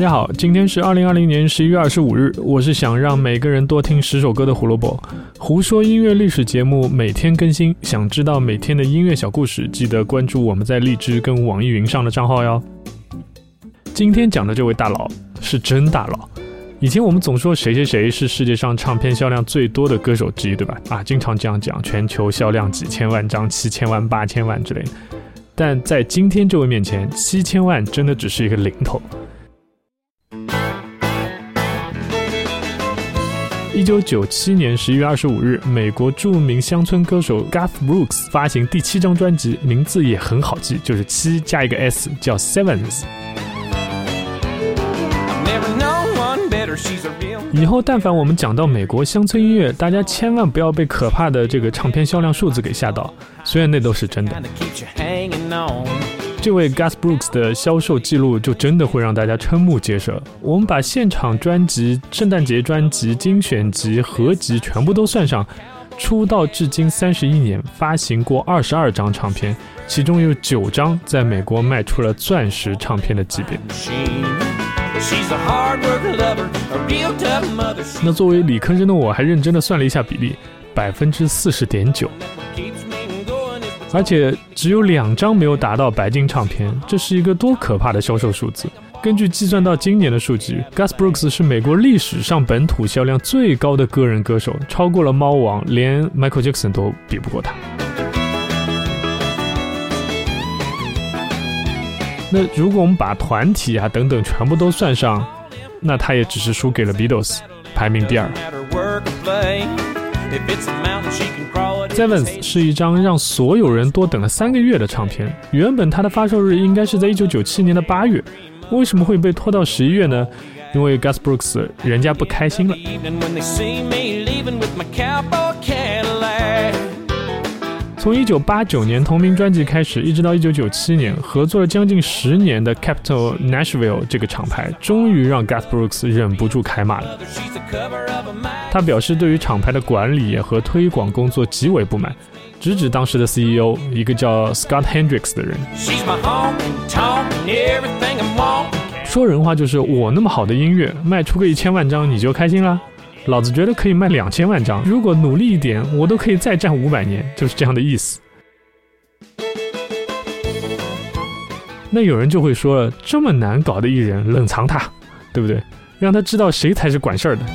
家好，今天是2020年11月25日，我是想让每个人多听10首歌的胡萝卜。胡说音乐历史节目每天更新，想知道每天的音乐小故事，记得关注我们在荔枝跟网易云上的账号哟。今天讲的这位大佬是真大佬。以前我们总说谁谁谁是世界上唱片销量最多的歌手之一，对吧？经常这样讲，全球销量几千万张、7000万、8000万之类的。但在今天这位面前，7000万真的只是一个零头。1997年11月25日，美国著名乡村歌手 Garth Brooks 发行第7张专辑，名字也很好记，就是7加一个 S， 叫 Sevens。以后但凡我们讲到美国乡村音乐，大家千万不要被可怕的这个唱片销量数字给吓到，虽然那都是真的。这位 Garth Brooks 的销售记录就真的会让大家瞠目结舌。我们把现场专辑、圣诞节专辑、精选集、合集全部都算上，出道至今31年，发行过22张唱片，其中有9张在美国卖出了钻石唱片的级别。那作为理科生的我，还认真的算了一下比例，40.9%。而且只有2张没有达到白金唱片，这是一个多可怕的销售数字。根据计算到今年的数据， Garth Brooks 是美国历史上本土销量最高的个人歌手，超过了猫王，连 Michael Jackson 都比不过他。那如果我们把团体等等全部都算上，那他也只是输给了 Beatles， 排名第2。Sevens 是一张让所有人多等了3个月的唱片，原本它的发售日应该是在1997年的8月，为什么会被拖到11月呢？因为 Garth Brooks 人家不开心了。从1989年同名专辑开始，一直到1997年，合作了将近10年的 Capitol Nashville 这个厂牌，终于让 Garth Brooks 忍不住开骂了。他表示对于厂牌的管理和推广工作极为不满，直指当时的 CEO 一个叫 Scott Hendricks 的人。说人话就是我那么好的音乐卖出个1000万张你就开心啦？老子觉得可以卖2000万张，如果努力一点我都可以再战500年，就是这样的意思。那有人就会说了，这么难搞的艺人冷藏他，对不对？让他知道谁才是管事儿的。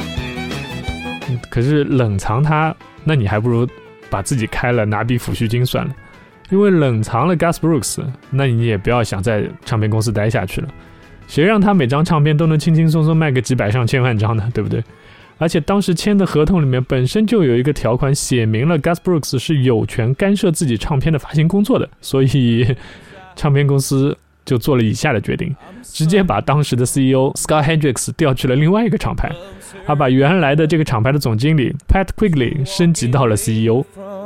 可是冷藏他，那你还不如把自己开了拿笔抚恤金算了。因为冷藏了 Garth Brooks， 那你也不要想在唱片公司待下去了。谁让他每张唱片都能轻轻松松卖个几百上千万张呢，对不对？而且当时签的合同里面本身就有一个条款写明了 Garth Brooks 是有权干涉自己唱片的发行工作的，所以唱片公司就做了以下的决定，直接把当时的 CEO Scott Hendricks 调去了另外一个厂牌，而把原来的这个厂牌的总经理 Pat Quigley 升级到了 CEO。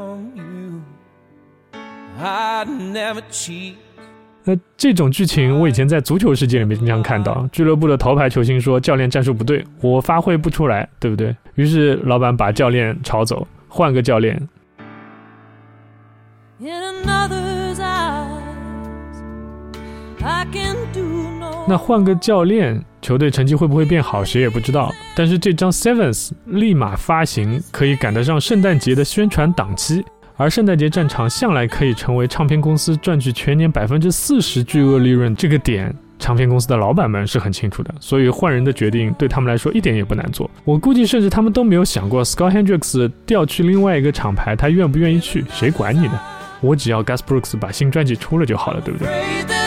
这种剧情我以前在足球世界里面经常看到，俱乐部的头牌球星说教练战术不对，我发挥不出来，对不对？于是老板把教练炒走，换个教练。那换个教练，球队成绩会不会变好谁也不知道，但是这张 Sevens 立马发行，可以赶得上圣诞节的宣传档期，而圣诞节战场向来可以成为唱片公司赚取全年40%巨额利润，这个点唱片公司的老板们是很清楚的，所以换人的决定对他们来说一点也不难做。我估计甚至他们都没有想过 Scott Hendricks 调去另外一个厂牌他愿不愿意去，谁管你呢？我只要 Garth Brooks 把新专辑出了就好了，对不对？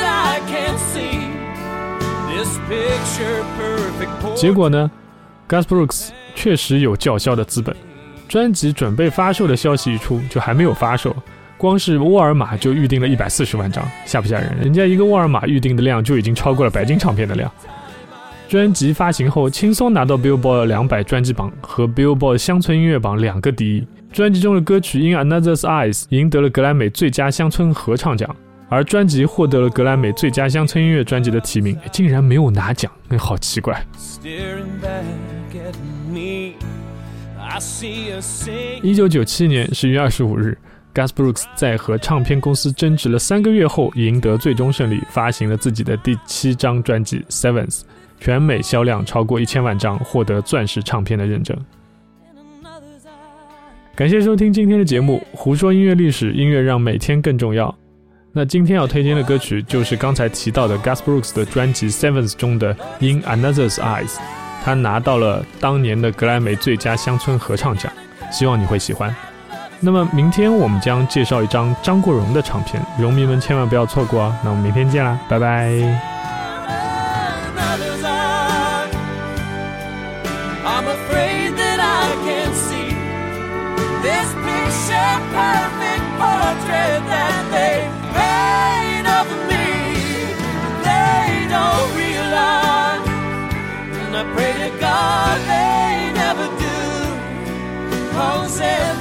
结果呢， Garth Brooks 确实有叫嚣的资本，专辑准备发售的消息一出就还没有发售，光是沃尔玛就预定了140万张，吓不吓人？人家一个沃尔玛预定的量就已经超过了白金唱片的量。专辑发行后轻松拿到 Billboard 200专辑榜和 Billboard 乡村音乐榜2个第一，专辑中的歌曲 In Another's Eyes 赢得了格莱美最佳乡村合唱奖，而专辑获得了格莱美最佳乡村音乐专辑的提名，竟然没有拿奖，好奇怪。1997年10月25日， Garth Brooks 在和唱片公司争执了3个月后赢得最终胜利，发行了自己的第7张专辑 Sevens。 全美销量超过1000万张，获得钻石唱片的认证。感谢收听今天的节目，胡说音乐历史，音乐让每天更重要。那今天要推荐的歌曲就是刚才提到的 Garth Brooks 的专辑 Sevens 中的 In Another's Eyes， 他拿到了当年的格莱美最佳乡村合唱奖，希望你会喜欢。那么明天我们将介绍一张张国荣的唱片，荣迷们千万不要错过啊！那我们明天见啦，拜拜。I'm afraid that I can see this picture perfect portrait that they made of me. They don't realize, and I pray to God they never do. 'Cause